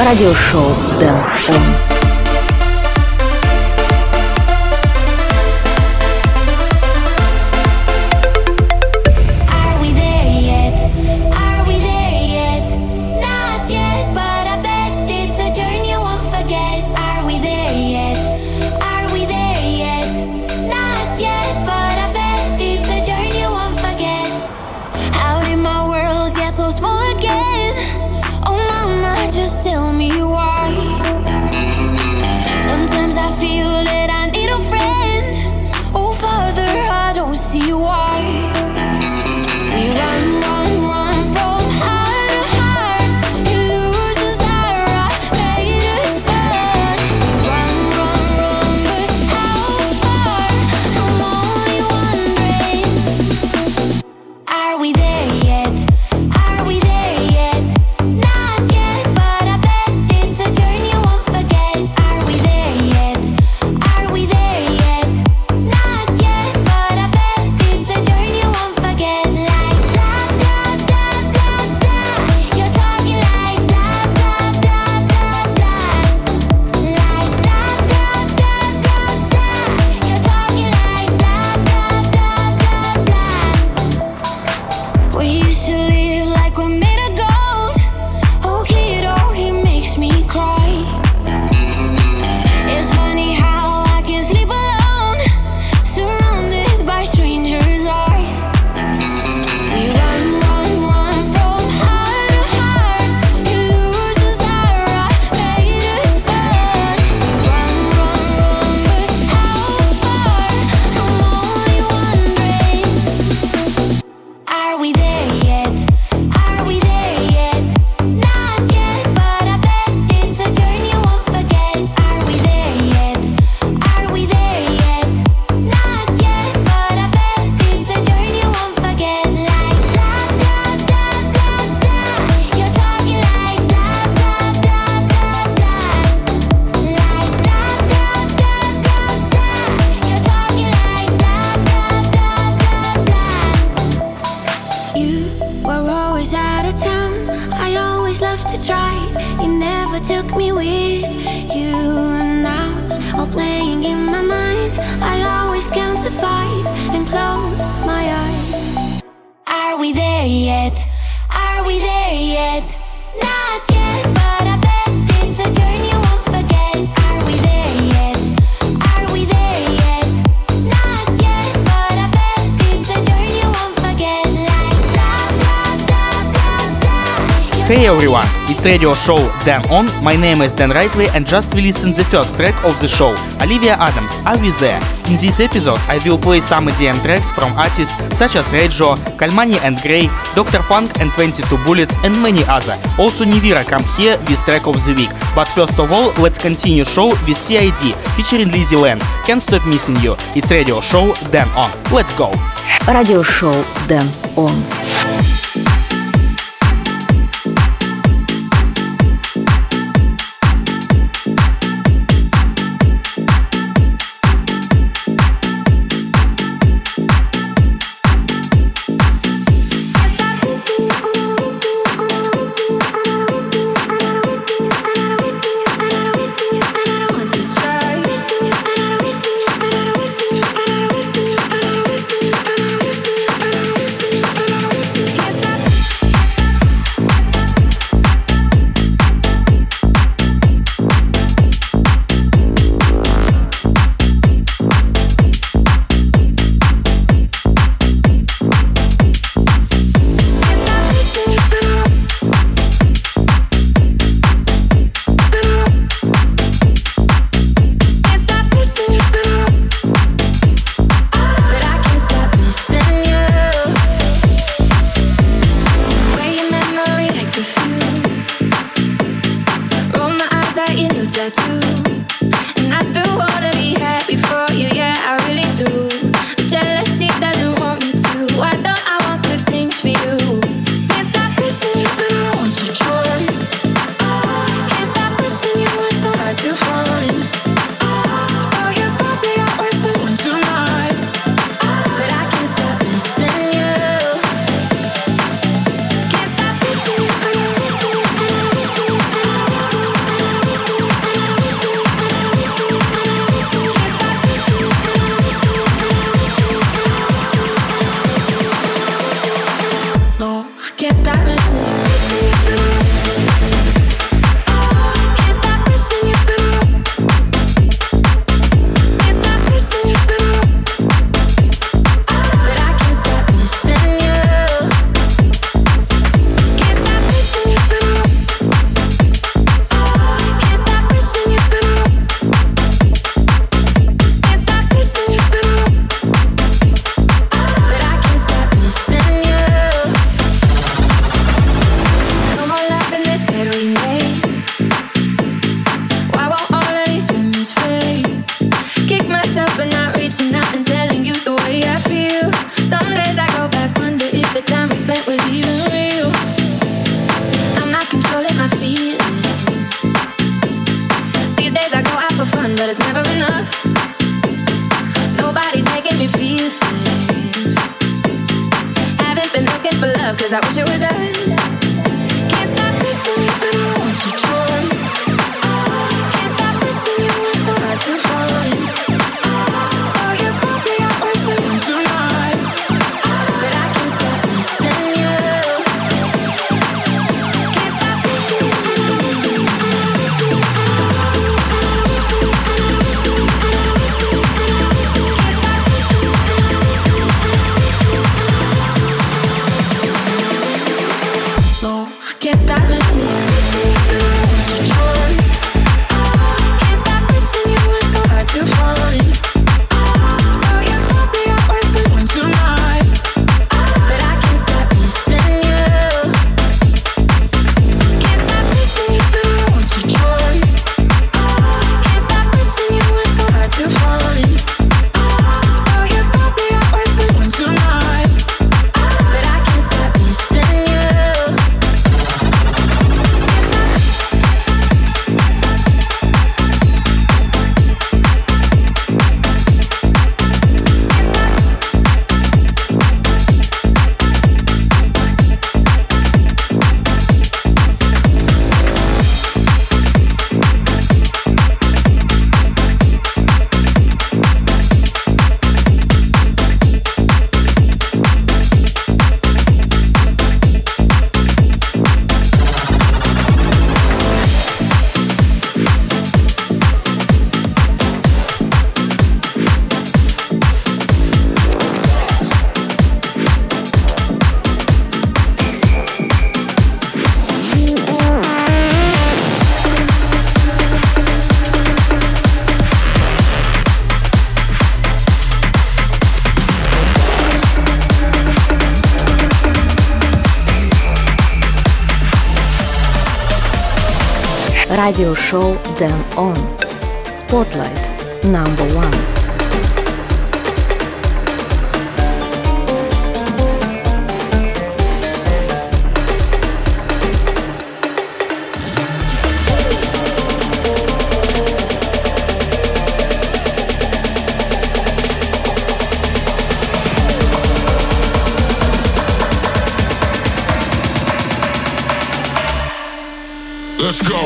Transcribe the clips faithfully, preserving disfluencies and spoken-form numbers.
Радиошоу Дэн Он. Hey everyone, it's radio show Dan On. My name is Dan Rightway and just we listened the first track of the show, Olivia Adams, Are We There? In this episode I will play some E D M tracks from artists such as Reggio, Kalmani and Gray, Doctor Punk and twenty-two Bullets and many other. Also Nivira come here with track of the week. But first of all, let's continue show with C I D featuring Lizzy Land. Can't Stop Missing You. It's radio show Dan On. Let's go. Радиошоу Дэн Он. something, but it's never enough. Nobody's making me feel things. Haven't been looking for love, cause I wish it was us. Can't stop missing you, but I want to join. Can't stop missing you, it's so hard to find. Oh, you brought me out with someone tonight, but I can't stop missing you. Can't stop missing you. Can't stop missing you. Can't stop missing you. It's so hard to find. Oh, you brought me out with someone tonight, but I can't stop missing you. Can't stop missing you, but I want to join. Can't stop missing you. It's so hard to find. Oh, you brought me out with someone tonight, but I can't stop missing you. Радиошоу Dance On. Spotlight number one. Let's go.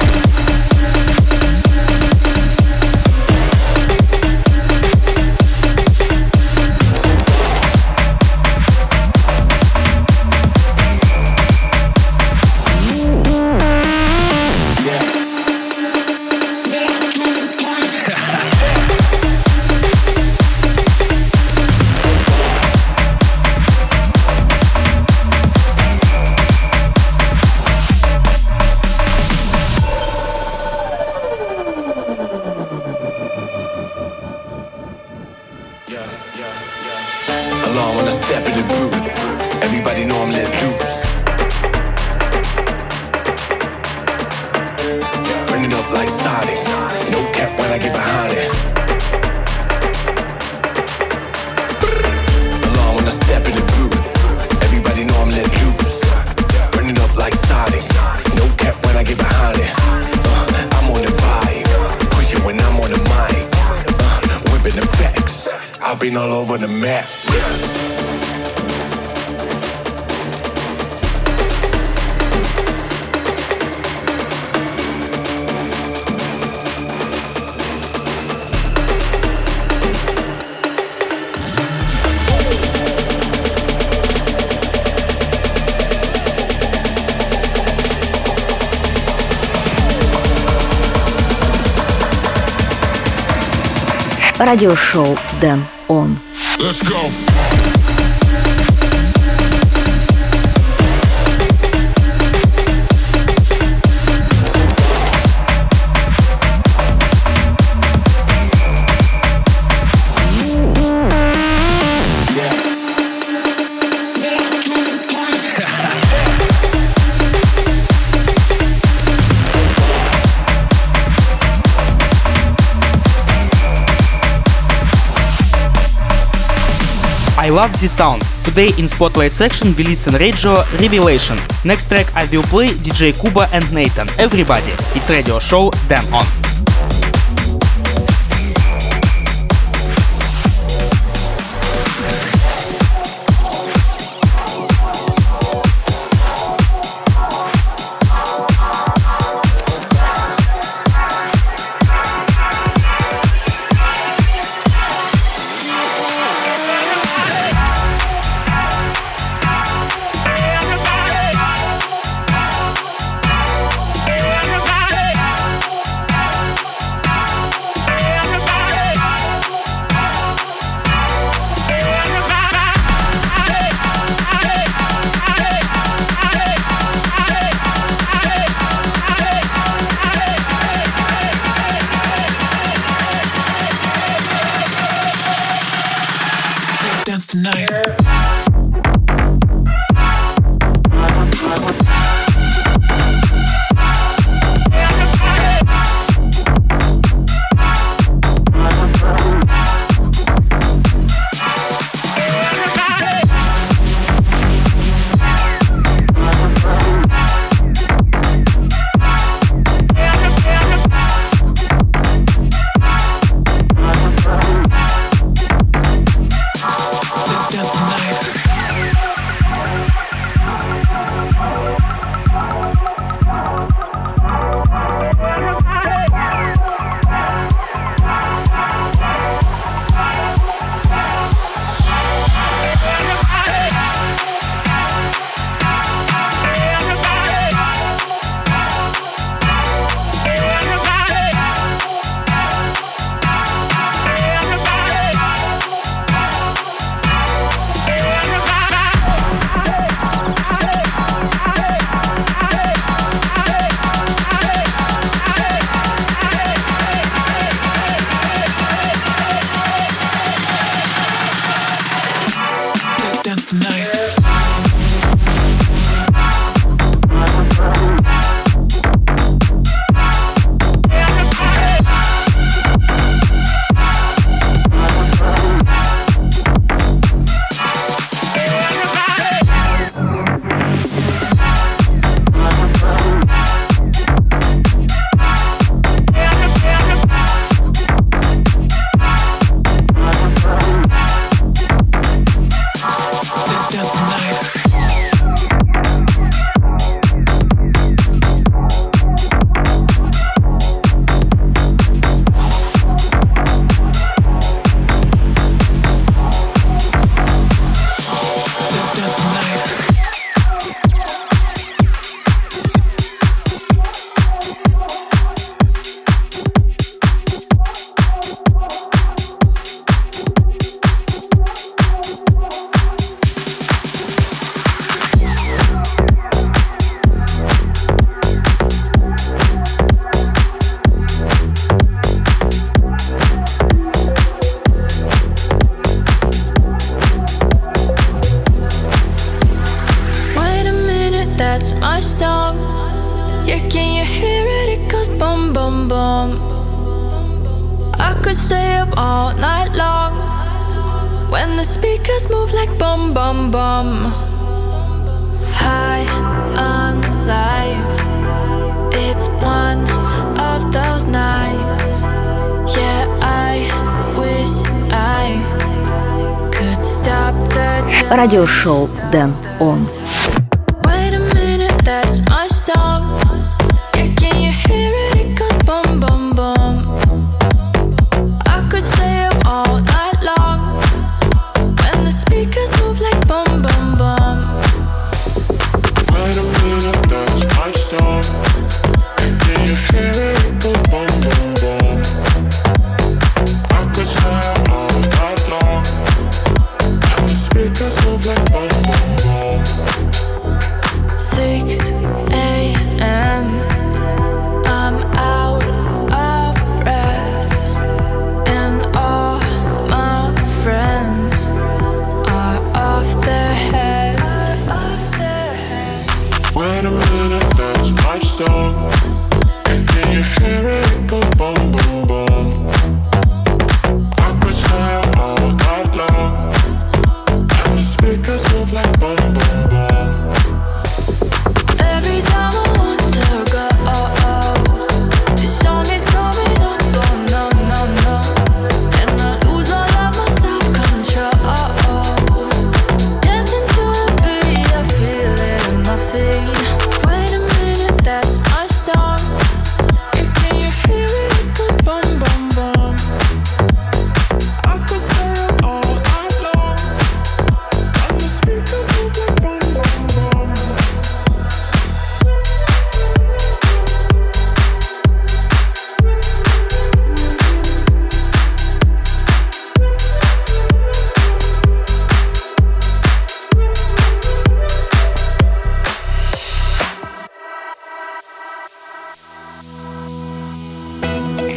Alarm when I step in the booth. Everybody know I'm let loose. Burning up like Sonic. No cap when I get behind it. Alarm when I step in the booth. Everybody know I'm let loose. Burning up like Sonic. No cap when I get behind it. Uh, I'm on the vibe. Push it when I'm on the mic. Uh, whipping the facts. I've been all over the map. Радиошоу Dance On. Let's go. I love this sound. Today in Spotlight section we listen Radio Revelation. Next track I will play D J Kuba and Nathan. Everybody, it's radio show Dance On. tonight. Радиошоу Дэн Он.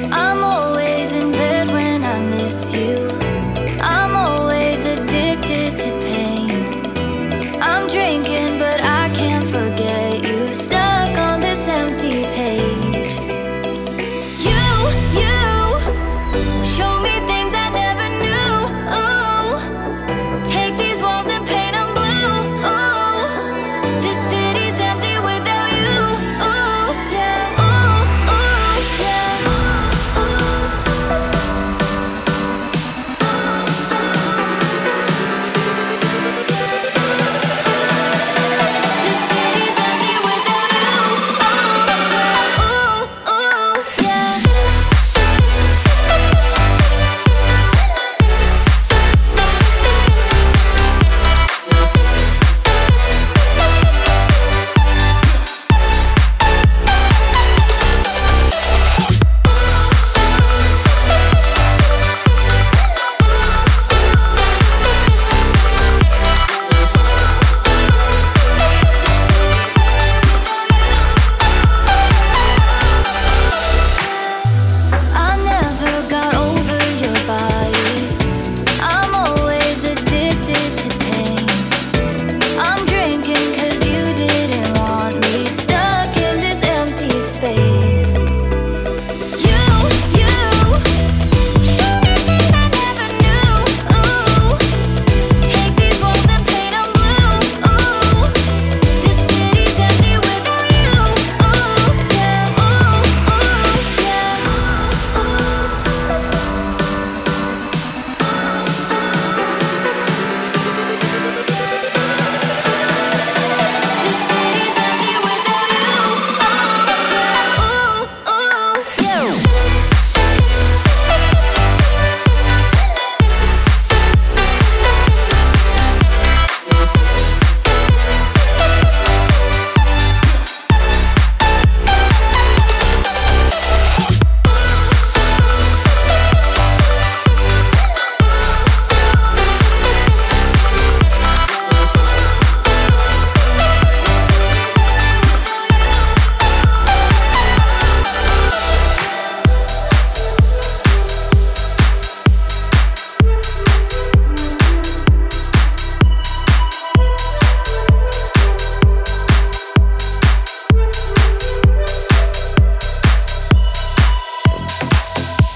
miss you. I'm always addicted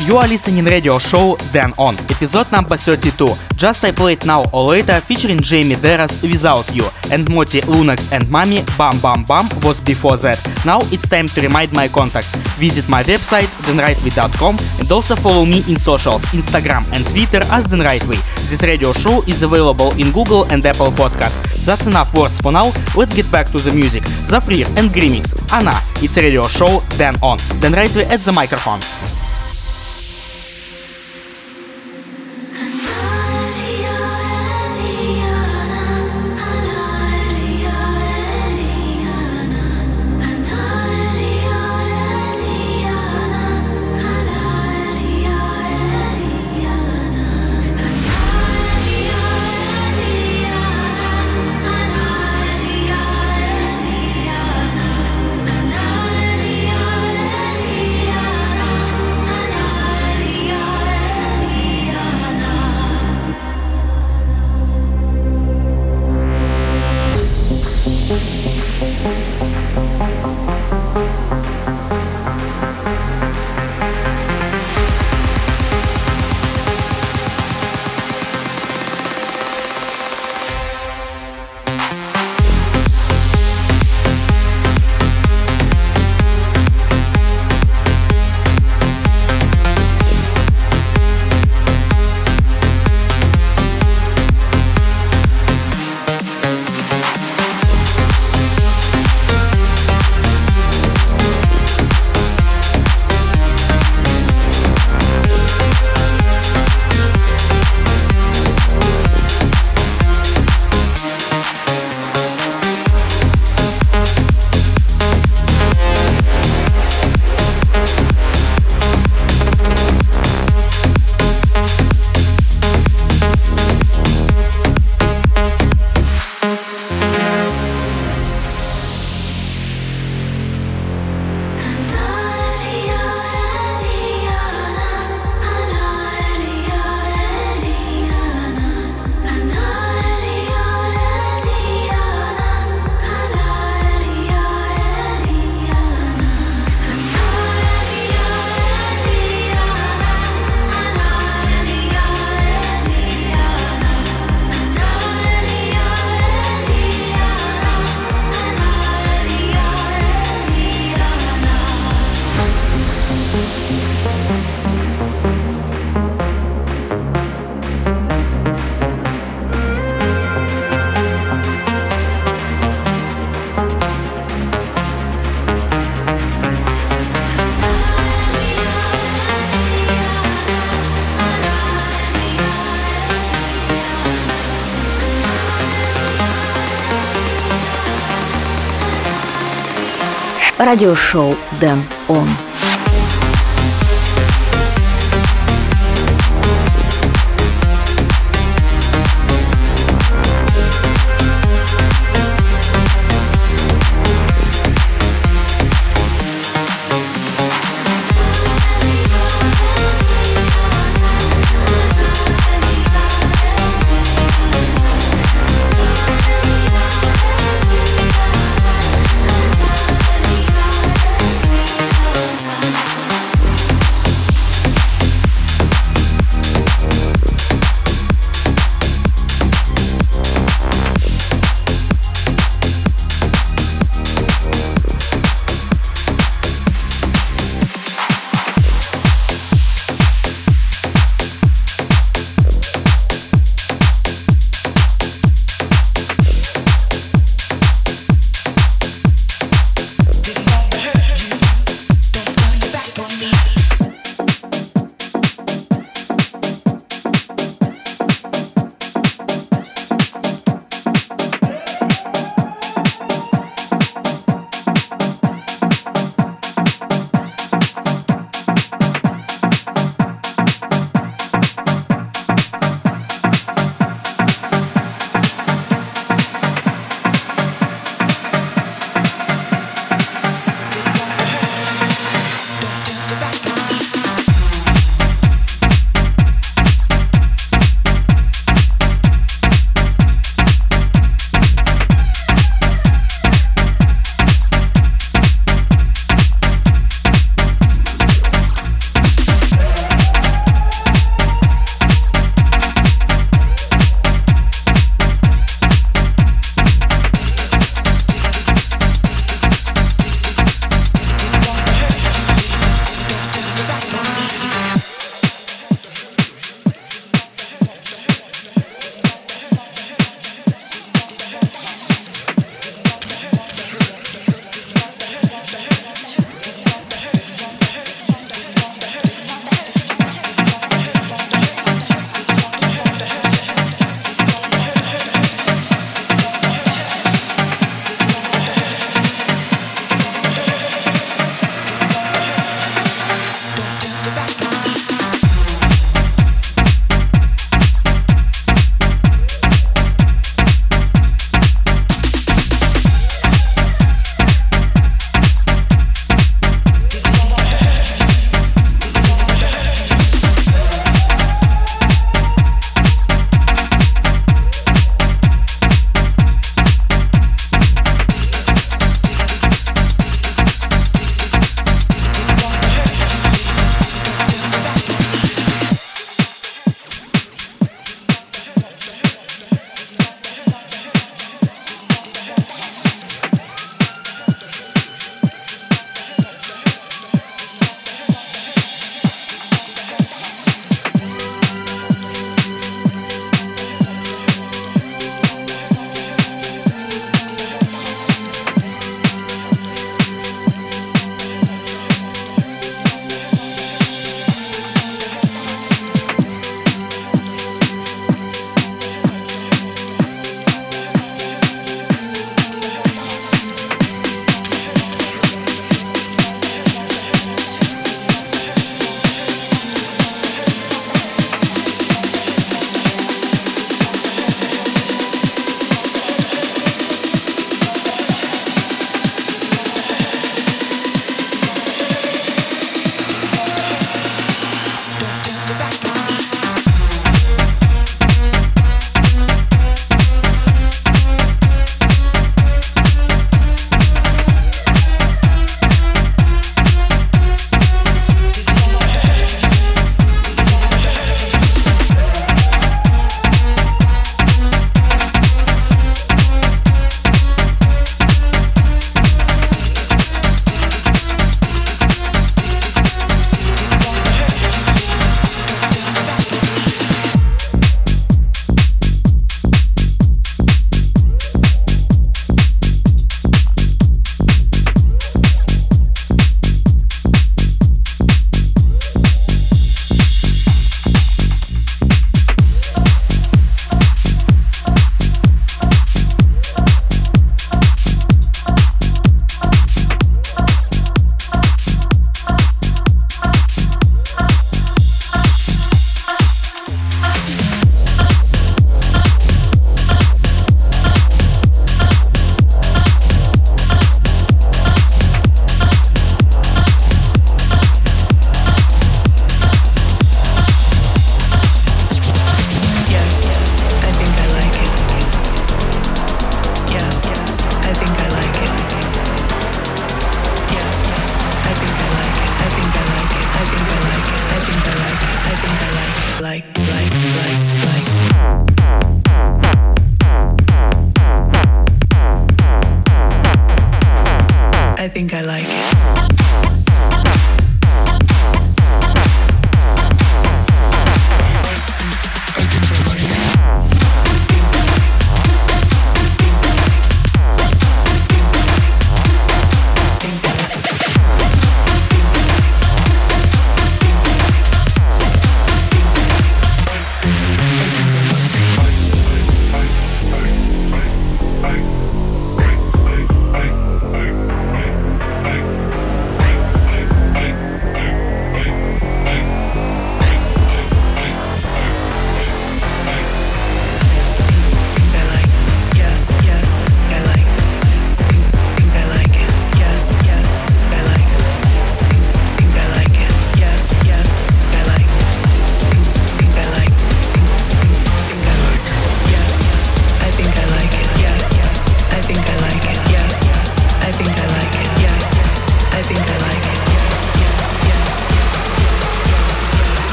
You are listening radio show Dan On, episode number thirty-two. Just I played Now or Later featuring Jamie Deras Without You, and Moti Lunax and Mami Bam Bam Bam was before that. Now it's time to remind my contacts. Visit my website dan rightway dot com and also follow me in socials, Instagram and Twitter as Dan Rightway. This radio show is available in Google and Apple Podcasts. That's enough words for now. Let's get back to the music. Zafrir and Grimix. Anna. It's a radio show Dan On. Dan Rightway at the microphone. Радиошоу Dan On.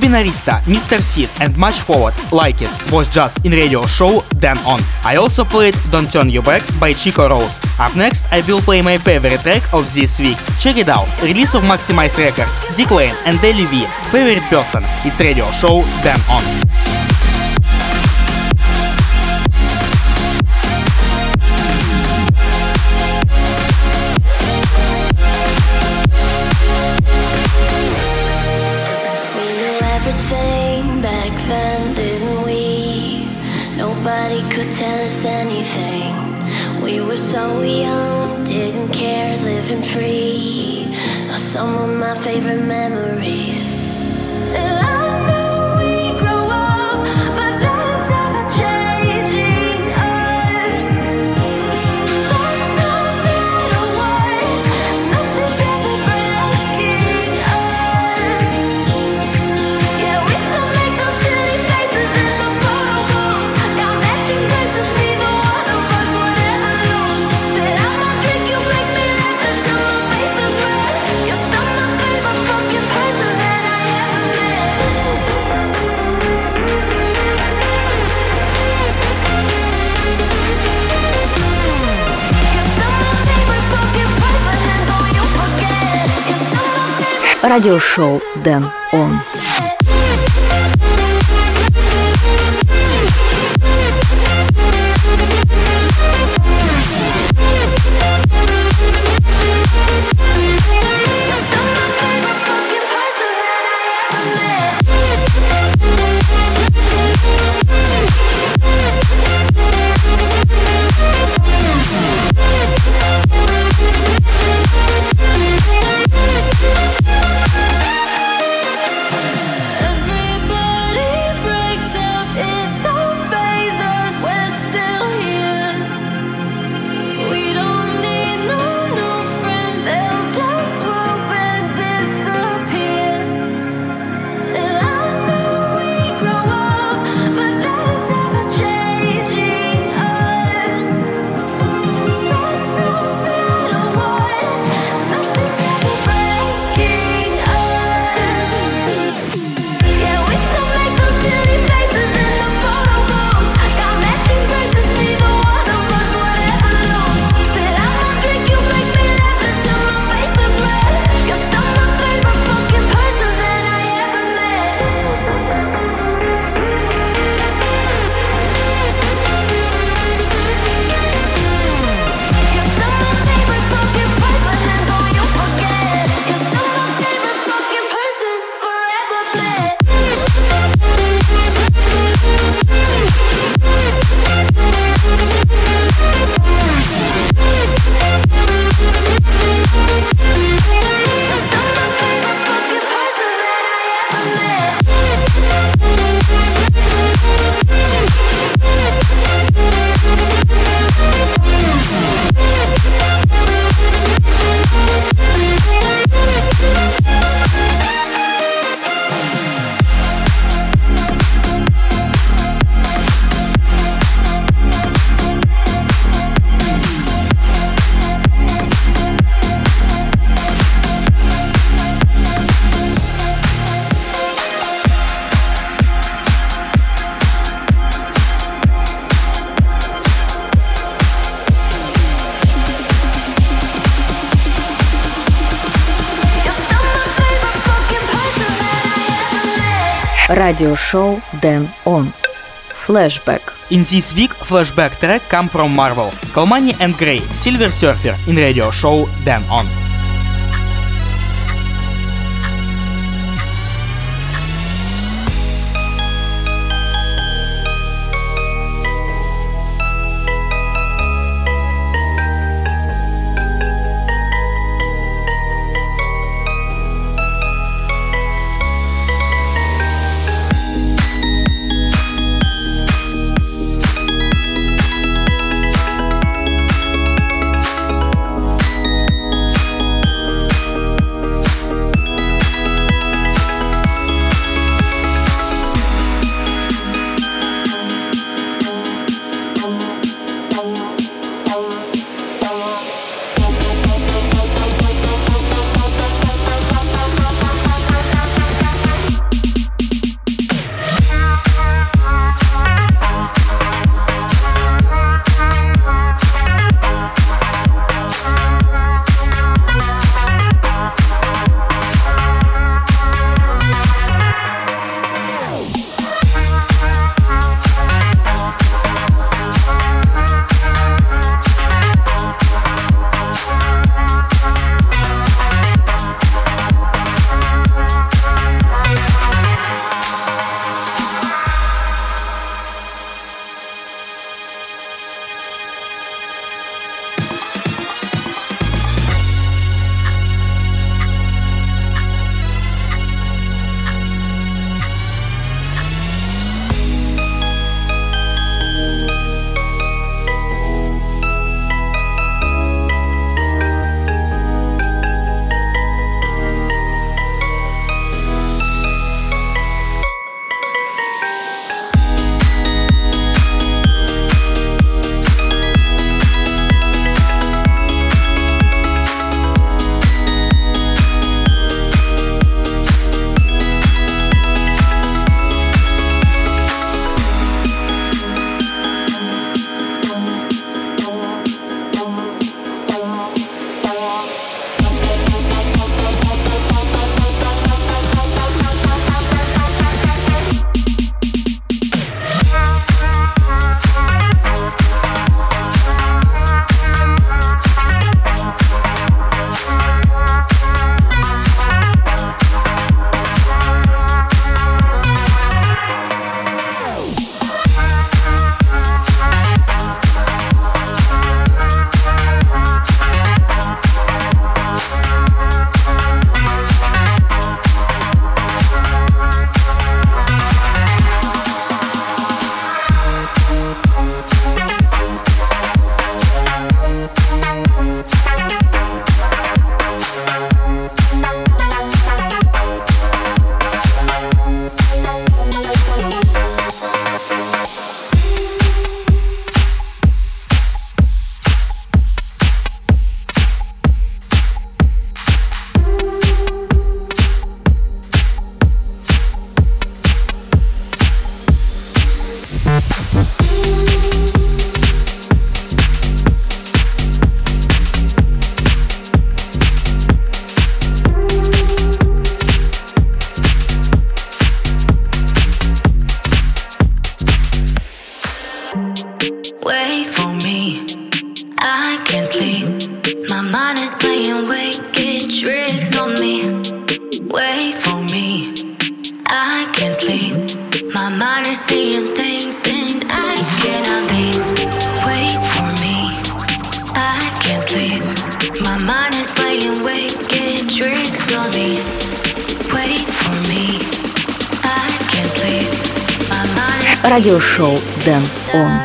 Binarista, Mister Seed and Much Forward, Like It was just in radio show Dan On. I also played Don't Turn You Back by Chico Rose. Up next I will play my favorite track of this week. Check it out, release of Maximize Records, Dick Lane and Deli V, Favorite Person. It's radio show Dan On. Everything back then, didn't we? Nobody could tell us anything. We were so young, didn't care, living free. Are some of my favorite memories. And I know we grow up, but that is never changing us. That's no matter what, nothing's ever breaking us. Yeah, we still make those silly faces in the photo booths. Got matching dresses, neither one of us would ever lose. Spit out my drink, you make me laugh until my face is red. You're still my favorite fucking person that I ever met. You're still my favorite fucking person, and don't you forget. You're still my favorite. Радиошоу Dan On. Everybody breaks up, it don't faze us, we're still here. We don't need no new friends, they'll just swoop and disappear. And I know we grow up, but that is never changing us. That's no matter what, nothing's ever breaking us. Yeah, we still make those silly faces in the photo booths. Got matching dresses, neither one of us would ever lose. Spit out my drink, you make me laugh until my face is red. You're still my favorite fucking person that I ever met. You're still my favorite fucking person, and don't you forget. You're still my favorite fucking person forever met. Радиошоу Dan On. Flashback. In this week, flashback track come from Marvel, Kalmani and Grey, Silver Surfer in radio show Dan On. can't sleep. My mind is playing wicked tricks on me. Wait for me. I can't sleep. My mind is seeing things and I cannot leave. Wait for me. I can't sleep. My mind is playing wicked tricks on me. Wait for me. I can't sleep. My mind is Радиошоу Дэн Он.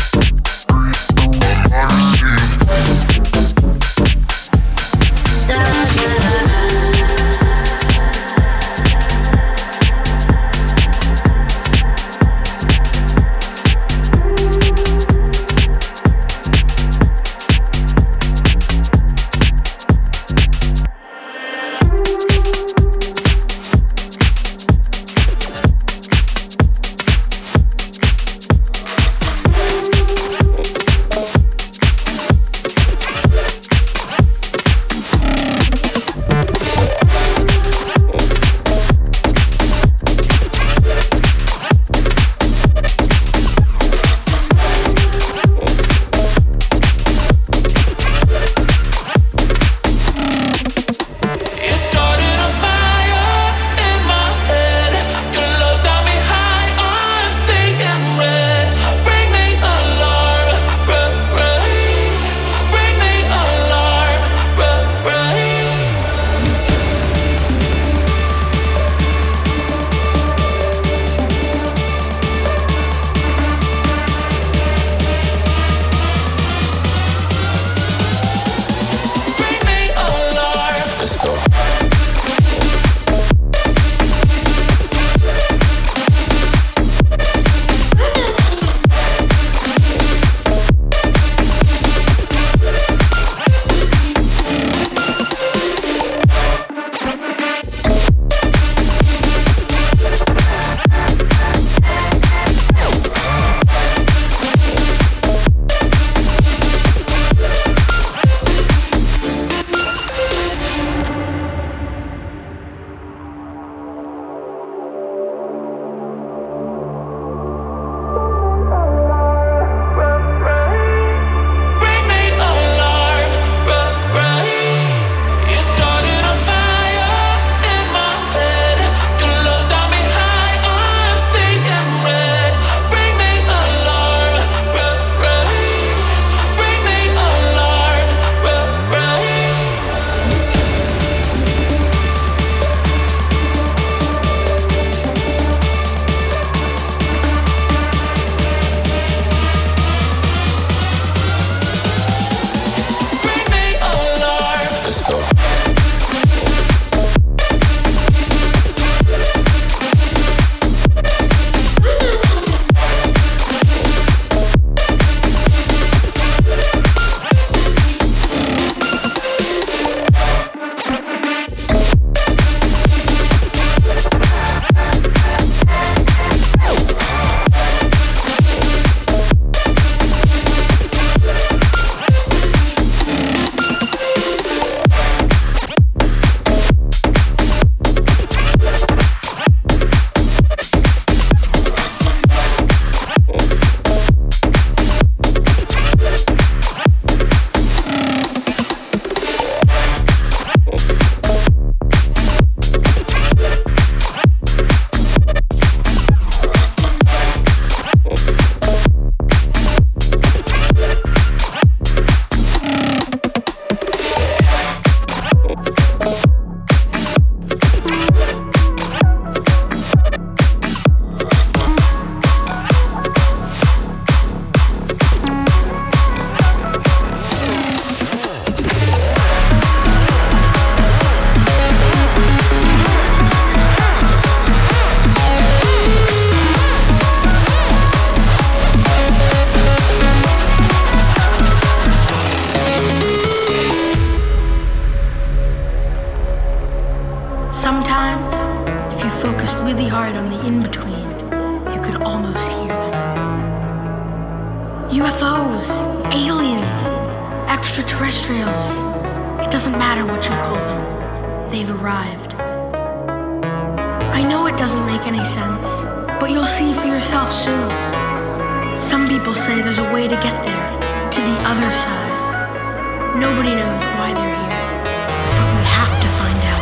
da Sometimes, if you focus really hard on the in-between, you could almost hear them. U F Os, aliens, extraterrestrials. It doesn't matter what you call them. They've arrived. I know it doesn't make any sense, but you'll see for yourself soon. Some people say there's a way to get there, to the other side. Nobody knows why they're here, but we have to find out.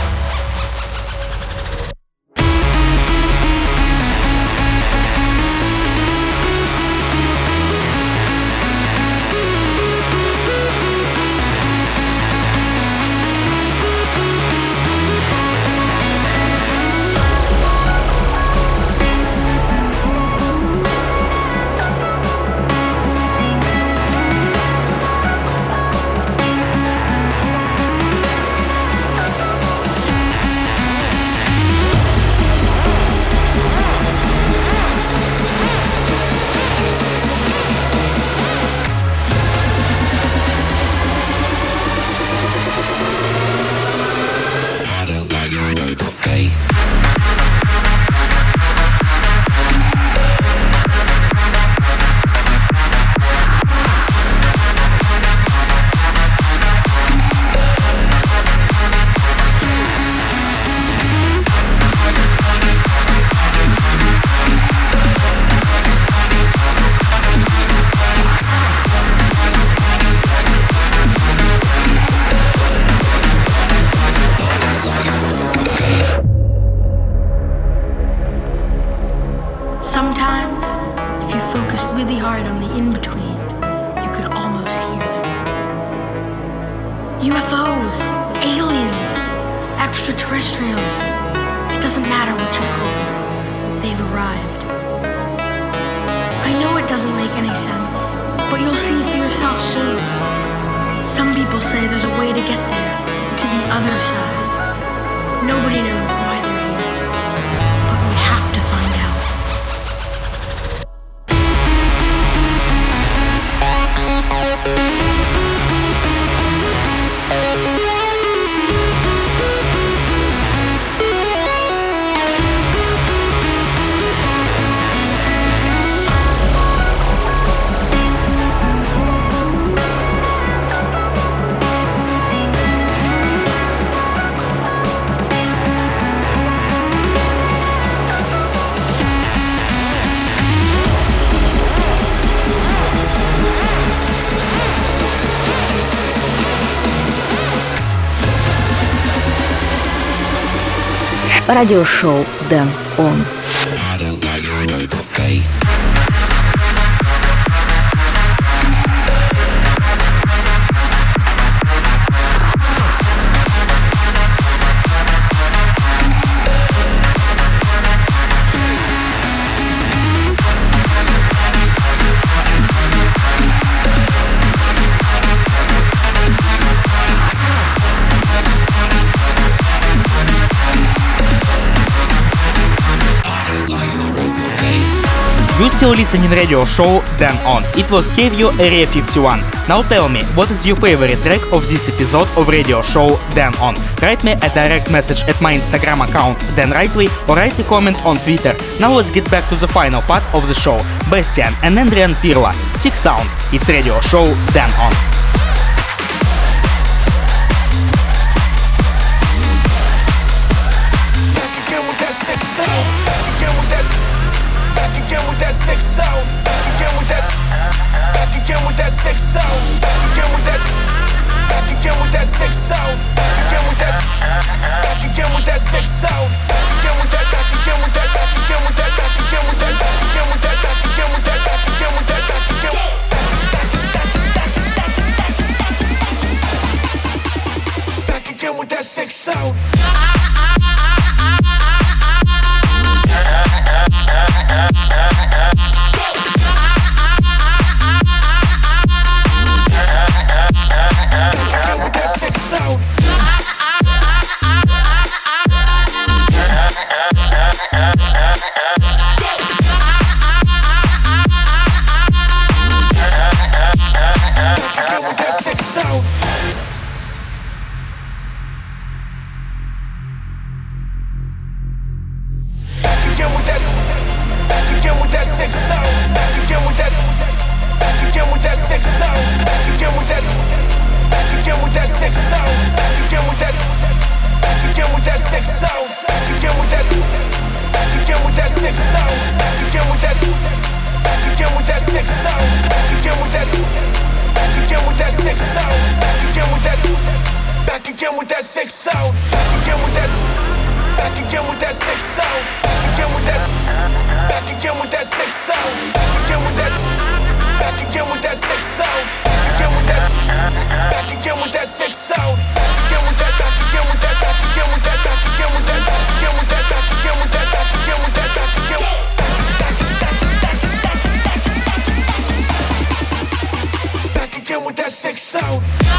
Sometimes, if you focused really hard on the in-between, you could almost hear them. U F Os, aliens, extraterrestrials. It doesn't matter what you call them. They've arrived. I know it doesn't make any sense, but you'll see for yourself soon. Some people say there's a way to get there, to the other side. Nobody knows why they're here, but we have to find out. Радиошоу Дэн Он. I don't like your robot face. You still listening radio show Dan On. It was K V U Area fifty-one. Now tell me, what is your favorite track of this episode of radio show Dan On? Write me a direct message at my Instagram account Dan Rightway or write a comment on Twitter. Now let's get back to the final part of the show. Bastian and Andrian Pirlo, Sick Sound. It's radio show Dan On. Sick sound, back again with that, back again with that sick sound, back again with that, back again with that sick sound, back again with that, back again with that sick sound, back again with that, back again with that, back again with that, back again with that, back again with that, back again with that, back again with that, back again, back again with that sick sound. six sound. Back again with that. Back again with that six sound. Back again with that. Back again with that six sound. Back again with that. Back again with that six sound. Back again with that. Back again with that six sound. Back again with that. Back again with that six sound. Back again with that. Back again with that six sound. Back again with that. Back again with that six sound. Back again with that. Back again with that six sound. Back again with that. Back again with that six sound. Back again with that. Back again with that six sound. Back again with that. Back again with that six sound. Back again with that. Back again with that. Back again with that. Back again with that. Back again with that. Back again with that. Back again with that. Back again. Back again with that six sound.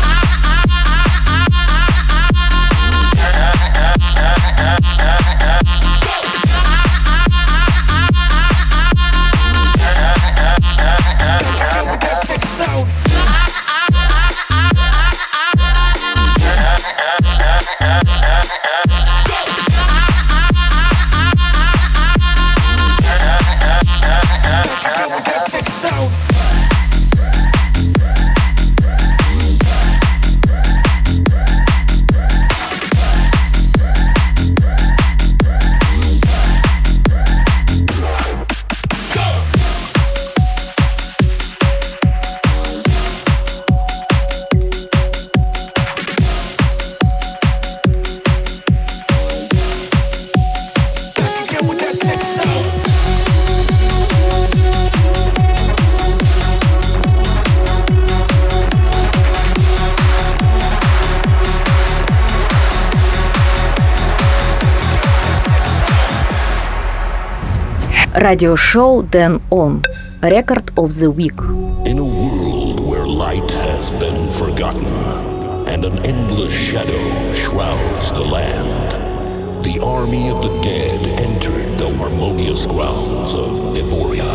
Радиошоу Дэн Он. Record of the Week. In a world where light has been forgotten and an endless shadow shrouds the land, the army of the dead entered the harmonious grounds of Nivoria,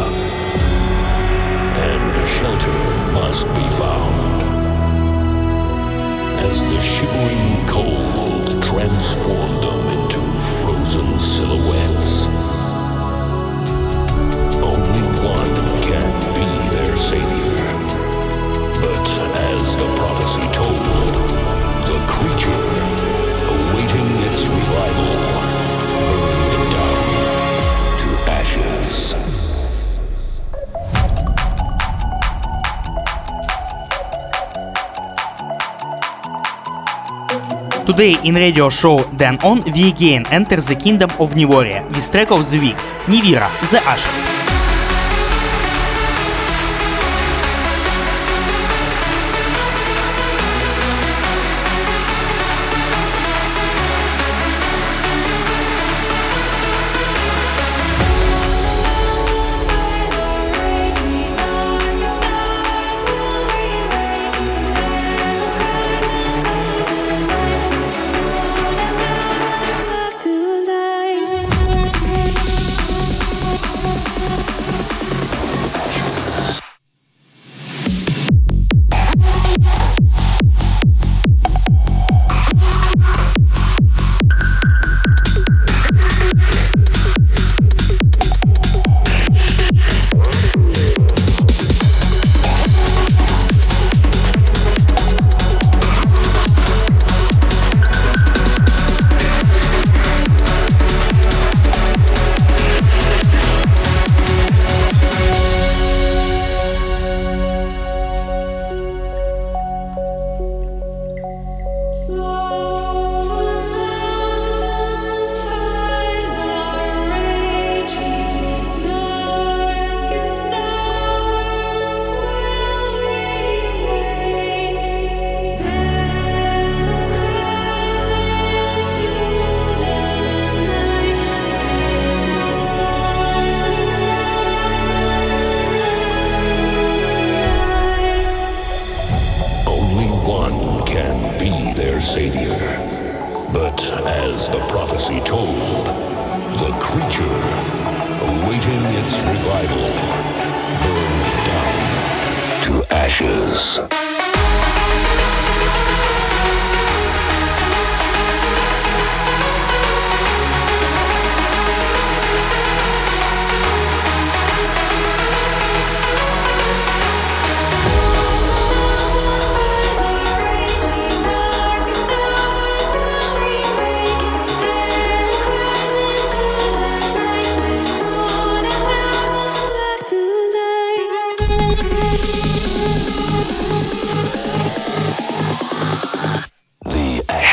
and shelter must be found. As the shivering cold transformed them into frozen silhouettes, only one can be their savior. But as the prophecy told, the creature, awaiting its revival, burned down to ashes. Today in radio show Dэн On, we again enter the kingdom of Nivoria with track of the week, Nivira, The Ashes.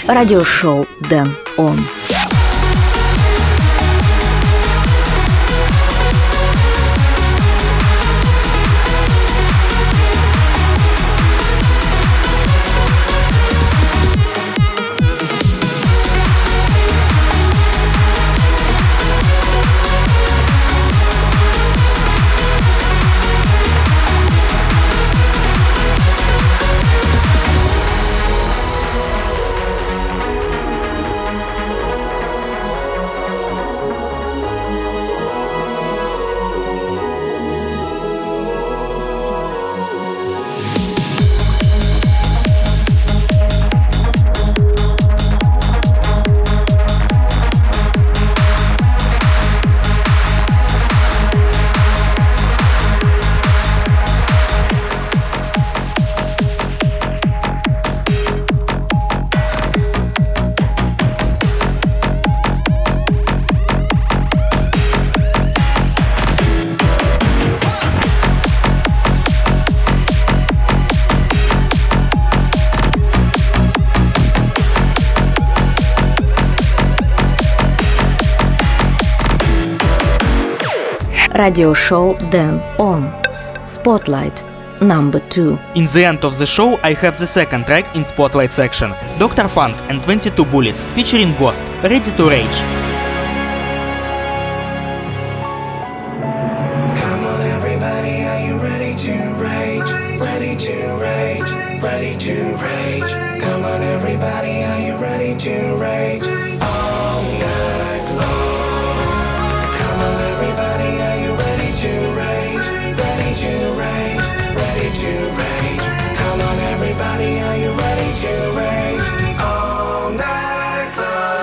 радиошоу Дэн Он. Радиошоу Дэн Он. Spotlight number two. In the end of the show, I have the second track in Spotlight section. Doctor Funk and twenty-two Bullets featuring Ghost, Ready to Rage. Come on everybody, are you ready to rage? Ready to rage, ready to rage. Come on everybody, are you ready to rage? All night long. Come on everybody, are you ready to rage? Ready to rage, ready to rage. Come on everybody, are you ready to rage? All night long.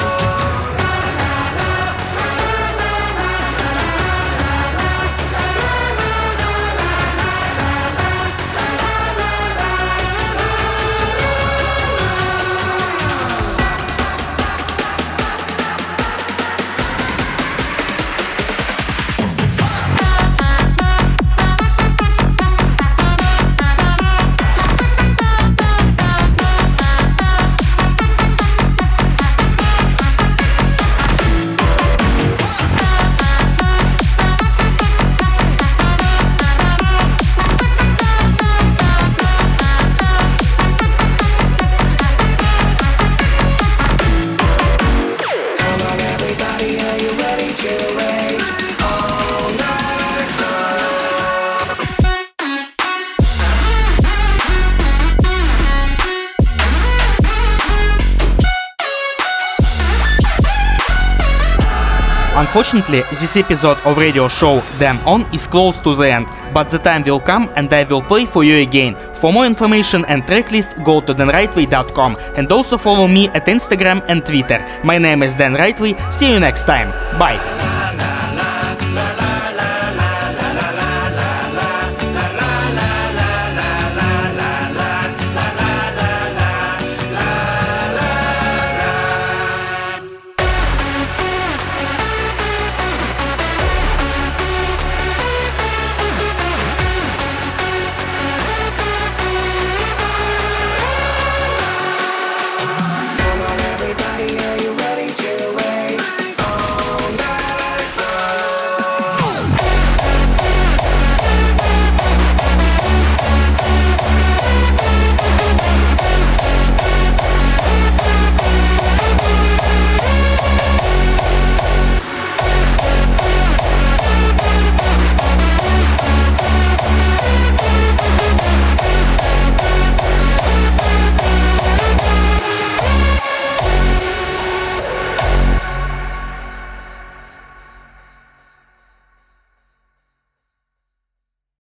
Unfortunately, this episode of radio show Dэн On is close to the end, but the time will come and I will play for you again. For more information and tracklist, go to dan rightway dot com and also follow me at Instagram and Twitter. My name is Dan Rightway. See you next time. Bye.